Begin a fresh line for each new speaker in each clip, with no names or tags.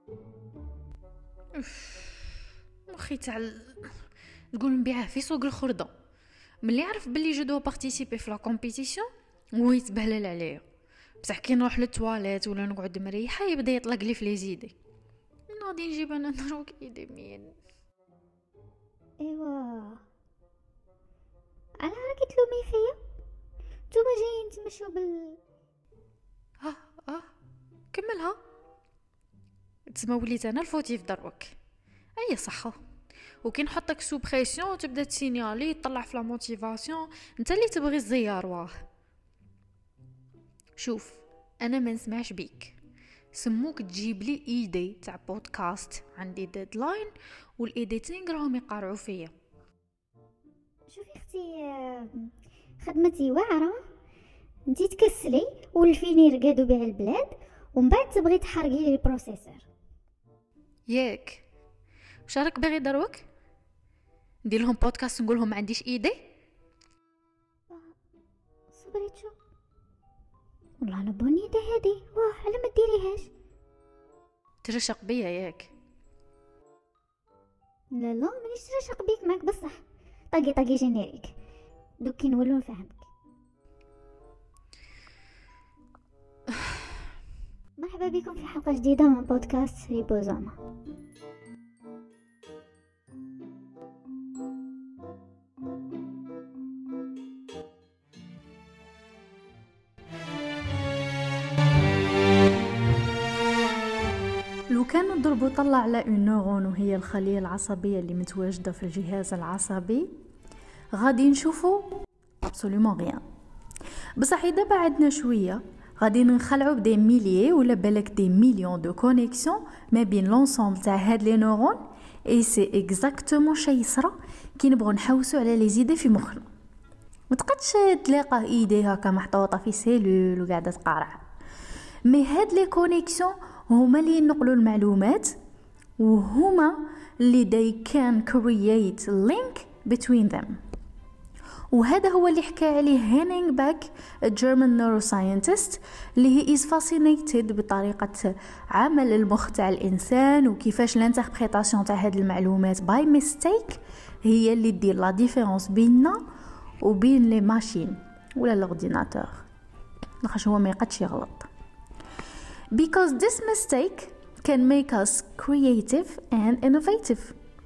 مخي تاع تقول نبيعه في سوق الخردة. ملي عرف بلي جو دو بارتيسيبي في لا كومبيتيسيون ويتبهلل عليا، بصح كي نروح للتواليت ولا نقعد مريحه يبدا يطلق لي في لي زيدي. غادي نجيب انا دروك ايدي مين.
ايوا انا راكي تلومي فيا؟ نتوما جايين تمشيو
اه كملها. تسمى وليت انا الفوتيف دروك. اي صحه. وكي نحطك سو بريسيون تبدا تسينيالي تطلع في لا موتيفاسيون، انت اللي تبغي الزيار. واه شوف، انا ما نسمعش بيك. سموك تجيب لي ايدي تاع بودكاست، عندي ديدلاين والايديتينغ راهم يقارعوا فيا.
شوفي اختي، خدمتي واعره، انتي تكسلي والفيني رقادو بيع البلاد ومن بعد تبغي تحرقي لي البروسيسور.
ياك واش راك باغي دروك ندير لهم بودكاست نقول لهم ما عنديش ايدي؟
صبريتشو والله انا بوني ده هادي، واه على ما ديريهاش.
ترشق بيا ياك؟
لا مانيش ترشق بيك، معاك بصح. طاقي جينيريك دوك كي نولو نفهمك. مرحبا بكم في حلقه جديده من بودكاست ريبوزوما.
لو كان نضربو طلع على اون نورون وهي الخلية العصبية اللي متواجدة في الجهاز العصبي، غادي نشوفو ابسوليومون غيان. بصح اذا بعدنا شوية غادي نخلعو بدي ميليي ولا بالك دي مليون دو كونيكسيون ما بين لونسومبل تاع هاد لي نورون. اي سي اكزاكتومون شي يصرى كي نبغوا نحوسوا على لي زيدي في مخنا. ما تقدش تلاقى ايدي هكا محطوطه في سيلول وقاعده تقارع. مي هاد لي كونيكسيون هما اللي ينقلوا المعلومات، وهما اللي they can create link between them. وهذا هو اللي حكى عليه هينينغ باك German neuroscientist، اللي he is fascinated بطريقة عمل المخ تاع الإنسان وكيفاش الانتربريتاسيون تاع هاد المعلومات by mistake هي اللي دير لا ديفيرونس بيننا وبين لي ماشين ولا الاورديناتور، لاخاطش هو ما يقدش يغلط. Because this mistake can make us creative and innovative.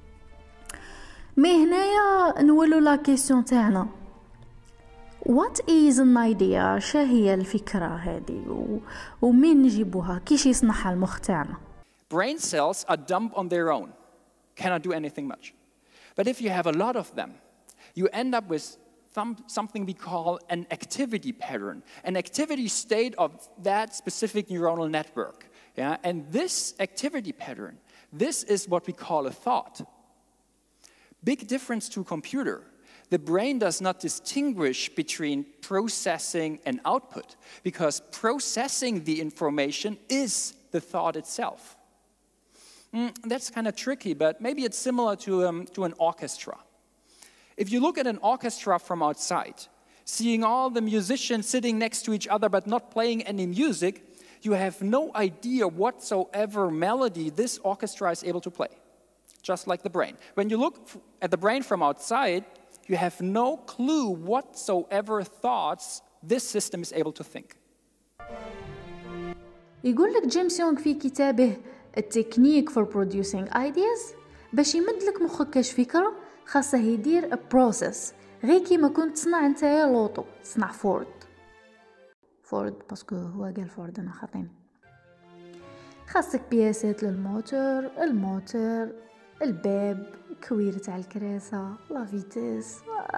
مي هنايا نولو لا كيسيون تاعنا، what is an idea؟ شاهي الفكرة هذه ومين نجيبوها؟ كيش يصنعها المخ تاعنا؟
Brain cells are dumb on their own, cannot do anything much. But if you have a lot of them, you end up with something we call an activity pattern, an activity state of that specific neuronal network. Yeah? And this activity pattern, this is what we call a thought. Big difference to a computer. The brain does not distinguish between processing and output, because processing the information is the thought itself. That's kind of tricky, but maybe it's similar to an orchestra. If you look at an orchestra from outside, seeing all the musicians sitting next to each other but not playing any music, you have no idea whatsoever melody this orchestra is able to play. Just like the brain. When you look at the brain from outside, you have no clue whatsoever thoughts this system is able to think.
يقول لك جيمس يونغ في كتابه التكنيك for producing ideas، باش يمد لك مخك كاش فكرة خاصه يدير بروسيس، غير كيما كنت تصنع نتايا لوطو، تصنع فورد باسكو هو قال فورد انا خاطين. خاصك بياسات للموتور، الموتور، الباب، كوير تاع الكراسه، لا فيتيس،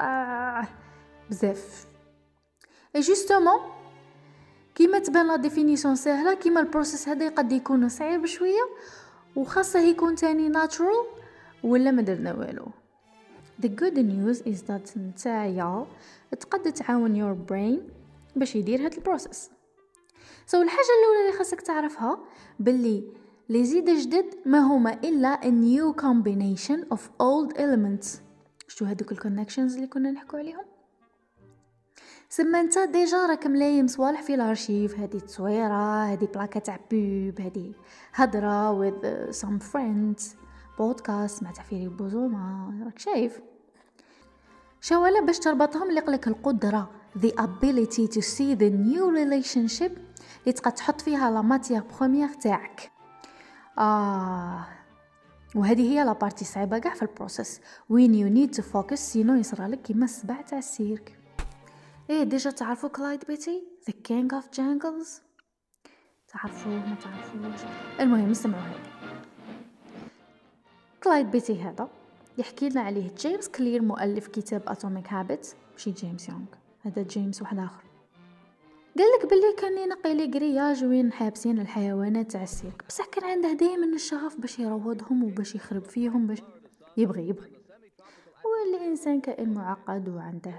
بزاف. جوستومون كيما تبان لا ديفينيسيون سهله، كيما البروسيس هذا قد يكون صعيب شويه وخاصه يكون تاني ناتشورال ولا ما درنا والو. The good news is that نتايا تقد تعاون your brain باش يدير هاد البروسيس. الحاجة الأولى اللي خاصك تعرفها باللي لي زيد جدد ما هما إلا a new combination of old elements. شو هادوك الكونكشنز اللي كنا نحكو عليهم؟ سما انت ديجا راك ملايم صوالح في الارشيف، هذه تصويره، هذه بلاكه تاع بوب، هذه هضره with some friends، بودكاست مع تعفيري بوزوما، راك شايف شوالا باش تربطهم اللي قلك القدره the ability to see the new relationship اللي تقدر تحط فيها لا ماتيير بروميير تاعك. وهذه هي لا بارتي صعيبه كاع في البروسيس when you need to focus سينو يصرالك كيما السبع تاع السيرك. ديجا تعرفوا كلايد بيتي the king of jungles؟ تعرفوه ما تعرفوش؟ المهم نسمعوا هذا. كلايد بيتي هذا يحكي لنا عليه جيمس كلير مؤلف كتاب اتوميك هابيتس، ماشي جيمس يونغ، هذا جيمس واحد اخر. قال لك باللي كان ينقي لي غرياج وين حابسين الحيوانات تاع السيرك، بصح كان عنده دائما الشغف باش يروضهم وباش يخرب فيهم، باش يبغي والانسان كائن معقد وعنده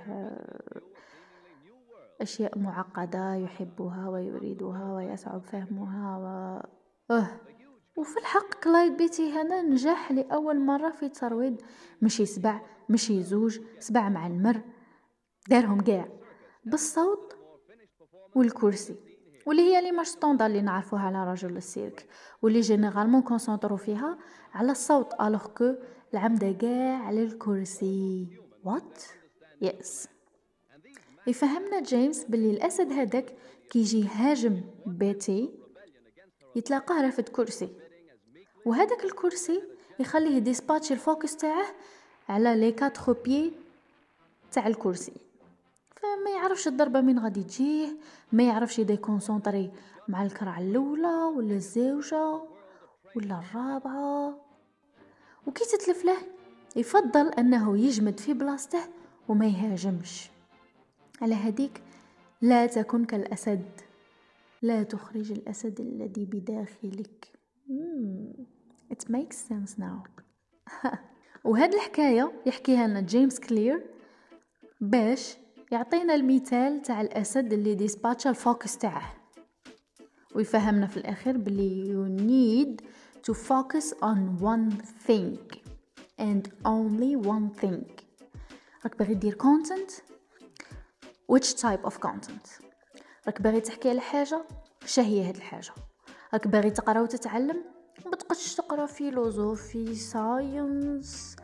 اشياء معقده يحبها ويريدها ويصعب فهمها وفي الحق كلايد بيتي هنا نجح لاول مره في ترويض ماشي 7 ماشي 2 7 مع المر، دارهم كاع بالصوت والكرسي، واللي هي لي ماش ستوندار اللي نعرفوها على رجل السيرك، واللي جينيرالمون كونسونطرو فيها على الصوت الوغ كو العمده كاع على الكرسي. وات يس يفهمنا جيمس باللي الاسد هذاك كيجي يهاجم بيتي يتلاقاه رافد كرسي، وهذاك الكرسي يخليه ديسباتش الفوكس تاعه على لي 4 بيي تاع الكرسي، فما يعرفش الضربه من غادي تجيه، ما يعرفش يدي كونسونطري مع الكرع الاولى ولا الزوجه ولا الرابعه. وكي تتلف له يفضل انه يجمد في بلاصته وما يهاجمش. على هذيك لا تكن كالاسد، لا تخرج الاسد الذي بداخلك. It makes sense now. وهذه الحكايه يحكيها لنا جيمس كلير باش يعطينا المثال تاع الاسد اللي ديسباتش الفوكس تاعه، ويفهمنا في الاخير بلي you need to focus on one thing and only one thing. راك باغي دير content، which type of content؟ راك باغي تحكي على حاجه، شهيه هاد الحاجه؟ راك باغي تقرا وتتعلم، ما تقدش تقرا فيلوزوفي، ساينس،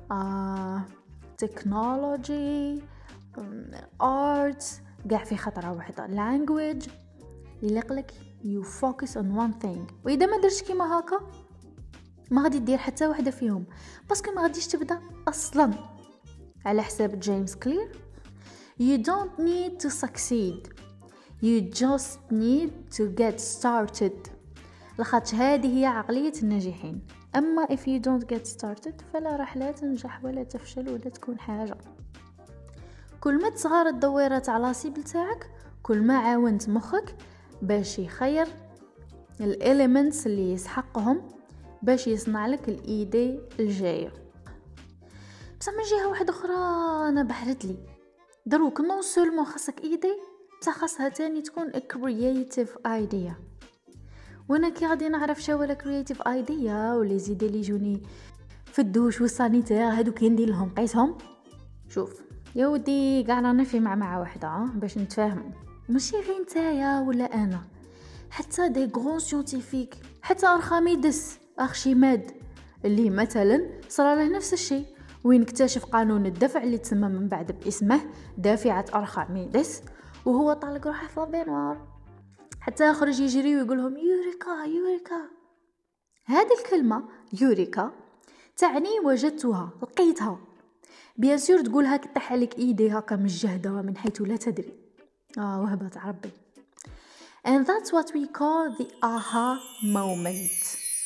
تكنولوجي، ارت كاع في خطره واحده، language. يلقلك you focus on one thing. واذا ما درتش كيما هكا ما غادي دير حتى واحده فيهم، باسكو ما غاديش تبدا اصلا. على حساب جيمس كلير you don't need to succeed, you just need to get started. لخاطش هذه هي عقليه الناجحين. اما if you don't get started فلا راح لا تنجح ولا تفشل ولا تكون حاجه. كل ما تصغر الدويره تاع لاسيبل تاعك، كل ما عاونت مخك باش يخير الاليمنتس اللي يسحقهم باش يصنع لك الايدي الجايه. بس من جهه واحده اخرى انا بحرت لي دروك نون سولمون خاصك ايدي، بصح خاصها تاني تكون كرييتيف ايديا. وانا كي غادي نعرف شو ولا كرييتيف ايديا ولي زيدي لي جوني في الدوش والسانيتير هادو كي ندير لهم قيسهم. شوف يا ودي كاع رانا في معمعه واحده باش نتفاهموا، ماشي غير نتايا ولا انا، حتى دي غران سيونتيفيك، حتى ارخميدس ارشيماد اللي مثلا صار له نفس الشيء، وين اكتشف قانون الدفع اللي تسمى من بعد باسمه دافعه ارخميدس، وهو طالق روحه في لابينوار حتى يخرج يجري ويقولهم يوريكا يوريكا. هذه الكلمه يوريكا تعني وجدتها، لقيتها. بيان سور تقولها كطيح عليك ايدي هكا مجهده من حيث لا تدري. وهبه ربي. And that's what we call the aha moment.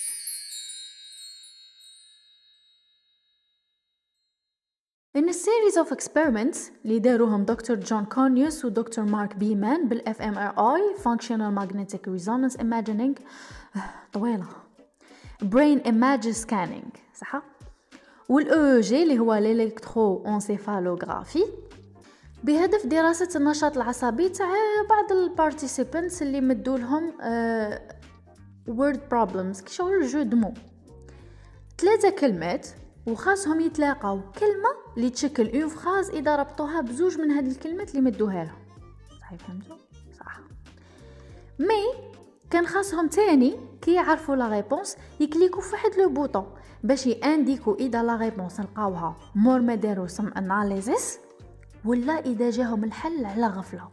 In a series of experiments اللي داروهم دكتور جون كونيوس ودكتور مارك بيمان بالف ام ار اي Functional Magnetic Resonance Imaging، طويله، Brain Image Scanning، صح؟ والاو جي اللي هو الالكترو انسيفالوغرافي، بهدف دراسة النشاط العصبي تاع بعض البارتيسيبانتس اللي مدوا لهم word problems كي شغل جو دمو 3 كلمات، وخاصهم يتلاقاو كلمة اللي تشكل اون فراز اذا ربطوها بزوج من هاد الكلمات اللي مدوها لهم. صحيح فهمتوا صح. مي كان خاصهم تاني كي يعرفوا لا ريبونس يكليكوا في واحد لو بوطون باش يانديكوا اذا لا ريبونس لقاوها مور ما داروا سم اناليزيس ولا اذا جاهم الحل على غفله.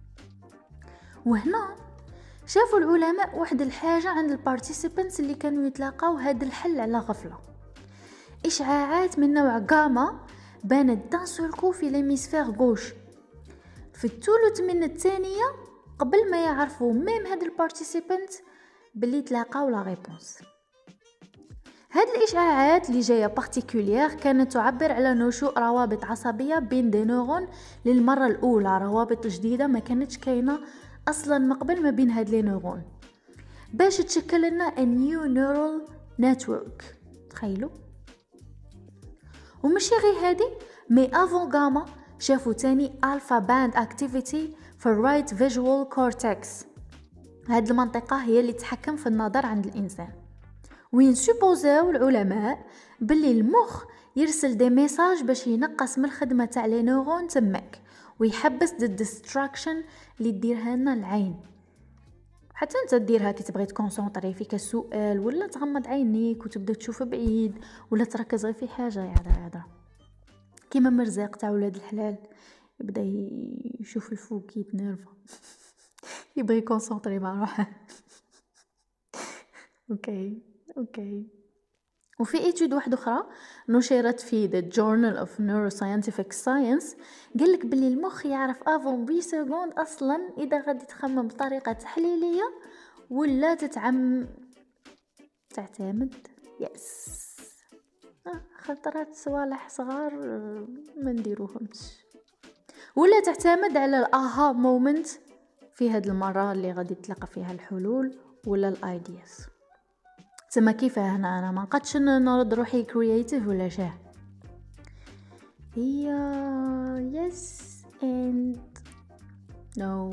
وهنا شافوا العلماء واحد الحاجه عند البارتيسيبانتس اللي كانوا يتلاقاو هذا الحل على غفله. اشعاعات من نوع غاما بانت دان سولكو في ليميسفير غوش في الثلث من الثانيه قبل ما يعرفوا ميم هاد البارتيسيبانت باللي تلاقاو لا ريبونس. هاد الاشعاعات اللي جايه بارتيكولير كانت تعبر على نشوء روابط عصبيه بين دي نورون للمره الاولى، روابط جديده ما كانتش كاينه اصلا من قبل ما بين هاد لي نورون، باش تشكل لنا a new neural network. تخيلوا. ومشي غير هادي مي افون غاما شافوا تاني الفا باند اكتيفيتي في الرايت فيجوال كورتكس. هاد المنطقه هي اللي تتحكم في النظر عند الانسان، وين سوبوزاو العلماء باللي المخ يرسل دي ميساج باش ينقص من الخدمه تاع لي نورون تماك ويحبس ضد الديستراكشن اللي ديرها لنا العين. حتى انت ديرها كي تبغي تكونسونطري فيك السؤال ولا تغمض عينيك وتبدا تشوف بعيد ولا تركز غير في حاجه يعذر كيما مرزاق تاع ولاد الحلال يبدا يشوف الفوق يتنرفا يبغي يكونسونطري مع روحه. اوكي. وفي ايتود واحده اخرى نشرت في The Journal of Neuroscientific Science قالك باللي المخ يعرف افون 8 سكوند اصلا اذا غادي تخمم بطريقه تحليليه ولا تعتمد خطرات صوالح صغار ما نديروهمش ولا تعتمد على الاها مومنت في هاد المره اللي غادي تلقى فيها الحلول ولا الايدياز. تما كيف هنا انا ما نقدش نرد روحي كرياتيف ولا شاه. هي يس اند نو.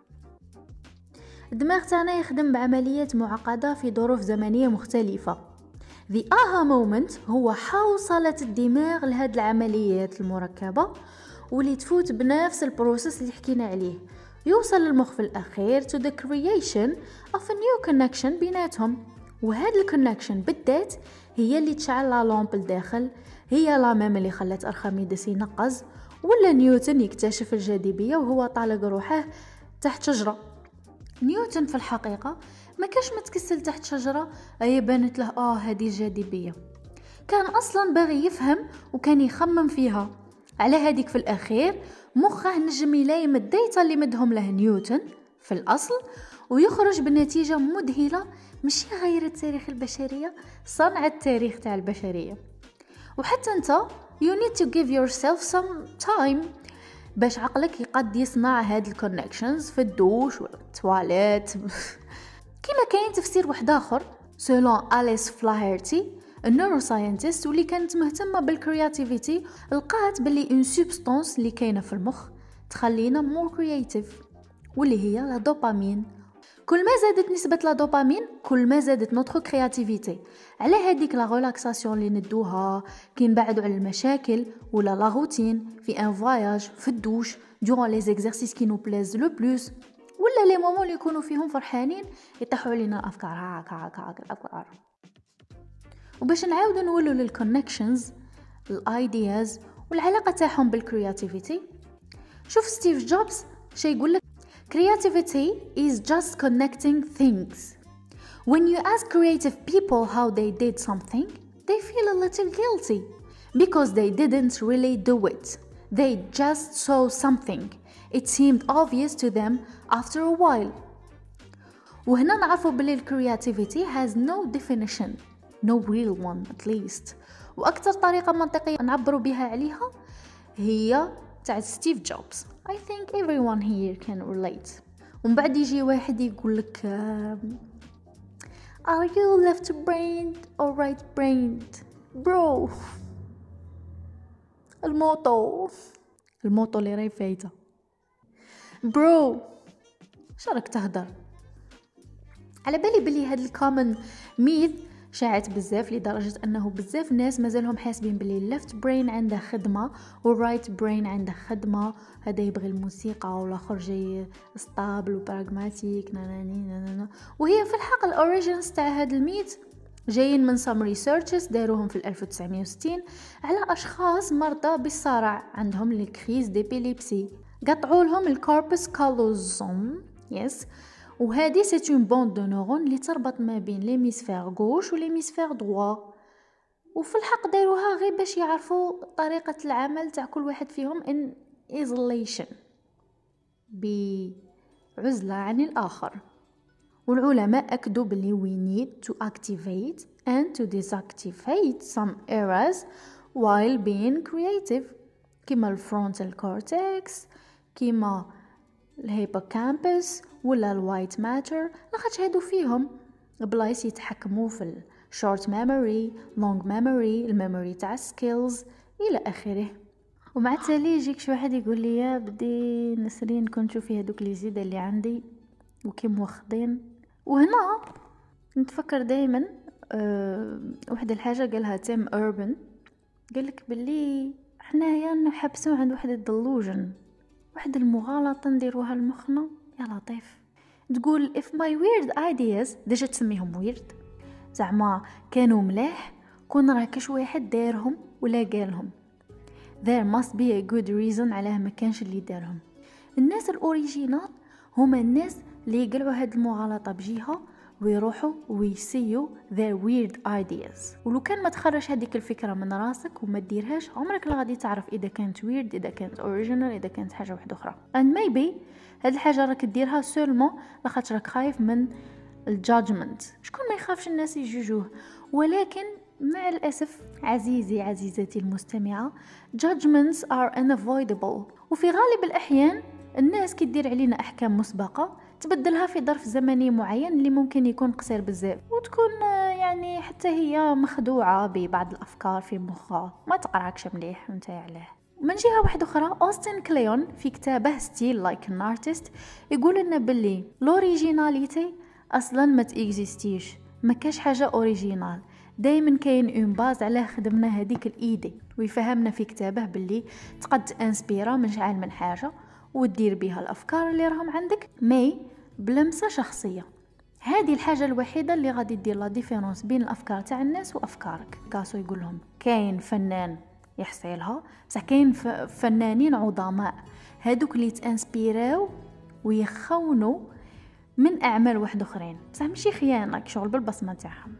الدماغ تاعنا يخدم بعمليات معقده في ظروف زمنيه مختلفه. The aha moment هو حوصلة الدماغ لهاد العمليات المركبه واللي تفوت بنفس البروسيس اللي حكينا عليه، يوصل المخ في الاخير to the creation of a new connection بيناتهم. وهذا الكونكشن بالذات هي اللي تشعل لا لامب الداخل، هي لا ميم اللي خلت ارخميدس ينقز ولا نيوتن يكتشف الجاذبيه وهو طالق روحه تحت شجره. نيوتن في الحقيقه ما كاش متكسل تحت شجره اي بانت له هذه الجاذبيه، كان اصلا باغي يفهم وكان يخمم فيها. على هذيك في الاخير مخه نجم يلايم الديتا اللي مدهم له نيوتن في الاصل ويخرج بنتيجه مذهله مش غير التاريخ البشريه، صنع التاريخ تاع البشريه. وحتى انت you need to give yourself some time باش عقلك يقد يصنع هاد الكونكشنز في الدوش ولا التواليت. كما كاين تفسير واحد اخر سولون أليس فلاهرتي النيوروساينتست واللي كانت مهتمه بالكرياتيفيتي، لقات باللي اون سبستانس اللي كاينه في المخ تخلينا مور كرياتيف واللي هي لا دوبامين. كل ما زادت نسبة لا دوبامين كل ما زادت نوترو كرياتيفيتي. على هذيك لا ريلاكساسيون اللي ندوها كي نبعدوا على المشاكل ولا لا روتين في ان فواياج في الدوش دوران لي زيكزارسيس كي نو بليز لو بلوس ولا لي مومون اللي يكونوا فيهم فرحانين يطيحوا علينا الافكار هاك الافكار. وباش نعاودوا نولوا للكونكشنز الايدياز والعلاقه تاعهم بالكرياتيفيتي، شوف ستيف جوبز شي يقول لك creativity is just connecting things. When you ask creative people how they did something, they feel a little guilty because they didn't really do it. They just saw something. It seemed obvious to them after a while. وهنا نعرفوا باللي creativity has no definition, no real one at least. وأكثر طريقة منطقية نعبروا بها عليها هي تاع ستيف جوبز. I think everyone here can relate. ومن بعد يجي واحد يقول لك Are you left-brained or right-brained? Bro. الموطو اللي راهي فايته. Bro. شارك تهدر. على بالي بلي هاد الكومن ميث شاعت بزاف لدرجة انه بزاف ناس مازالهم حاسبين بلي الليفت برين عنده خدمة والرايت برين عنده خدمة، هذا يبغي الموسيقى والاخر جاي ستابل وبراغماتيك ناناني. وهي في الحق الاوريجينز تاع هذا الميت جايين من some researchers داروهم في 1960 على اشخاص مرضى بالصرع عندهم الكريز ديبيليبسي، قطعوا لهم الكوربس كالوزوم يس، وهذه سي اون بوند دو نورون اللي تربط ما بين ليميسفير غوش وليميسفير دروا، وفي الحق داروها غير باش يعرفوا طريقة العمل تاع كل واحد فيهم in isolation بعزلة عن الآخر. والعلماء أكدوا بلي we need to activate and to deactivate some areas while being creative كما الفرونتال كورتكس كما الهيبوكامبس ولا الوايت ماتر، لاخاطش هادو فيهم بلايص يتحكموا في الشورت ميموري لونج ميموري الميموري تاع سكيلز الى اخره. ومع التالي يجيك شي واحد يقول لي يا بدي نسرين كنت نشوفي هذوك لي زيد اللي عندي وكي موخدين. وهنا نتفكر دائما واحد الحاجه قالها تيم اوربن، قالك باللي حنايا نحبسوا عند واحد الدلوجن، واحد المغالطه نديروها لمخنا يا لطيف. تقول if my weird ideas ديجا تسميهم weird زعما كانوا ملاح كون راه كاش واحد دارهم ولا قالهم there must be a good reason علاه ما كانش اللي دارهم. الناس الاوريجينال هما الناس اللي يقلعوا هاد المغالطه بجهه ويروحوا ويسيو their weird ideas. ولو كان ما تخرج هذيك الفكره من راسك وما ديرهاش عمرك لا غادي تعرف اذا كانت weird اذا كانت original اذا كانت حاجه واحده اخرى. and maybe هاد الحاجه راك ديرها سولمون لاخاطش راك خايف من الجادجمنت. شكون ما يخافش الناس يجوجوه، ولكن مع الاسف عزيزي عزيزتي المستمعه judgments are unavoidable. وفي غالب الاحيان الناس كي دير علينا احكام مسبقه تبدلها في ظرف زمني معين اللي ممكن يكون قصير بزاف، وتكون يعني حتى هي مخدوعه ببعض الافكار في مخها ما تقراكش مليح وانت عليه. من جهه واحده اخرى اوستن كليون في كتابه ستيل لايك ان ارتست يقول لنا باللي لوريجيناليتي اصلا ما تيكزيستيش، ما كاش حاجه اوريجينال، دائما كاين اون باز على خدمنا هذيك الايدي. ويفهمنا في كتابه باللي تقد تانسبيرا من شحال من حاجه ودير بها الافكار اللي راهم عندك مي بلمسه شخصيه. هذه الحاجه الوحيده اللي غادي دير لا ديفيرونس بين الافكار تاع الناس وافكارك. كاسو يقول لهم كاين فنان يحصيلها بصح كاين فنانين عظماء هادوك اللي تانسبيراو ويخونوا من اعمال واحد اخرين، بصح ماشي خيانه شغل بالبصمه تاعهم،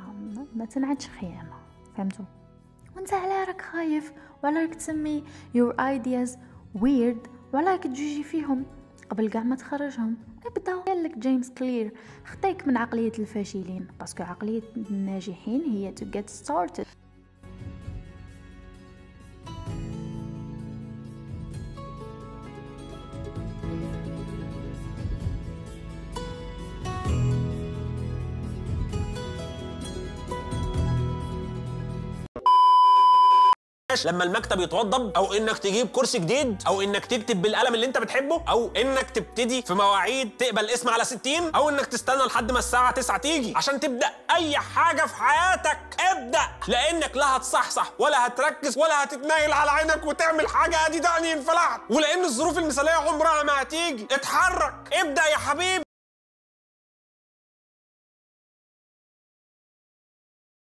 ما تنعدش خيانه، فهمتوا؟ وانت على راك خايف ولا راك تسمي your ideas weird ولا راك تجوجي فيهم قبل كاع ما تخرجهم؟ ابدا. قال لك جيمس كلير خطيك من عقليه الفاشلين باسكو عقليه الناجحين هي to get started.
لما المكتب يتوضب او انك تجيب كرسي جديد او انك تكتب بالقلم اللي انت بتحبه او انك تبتدي في مواعيد تقبل اسم على 60 او انك تستنى لحد ما الساعه 9 تيجي عشان تبدا اي حاجه في حياتك. ابدا، لانك لا هتصحصح ولا هتركز ولا هتتنايل على عينك وتعمل حاجه ادي دعني انفلحت، ولان الظروف المثاليه عمرها ما هتيجي. اتحرك، ابدا يا حبيبي.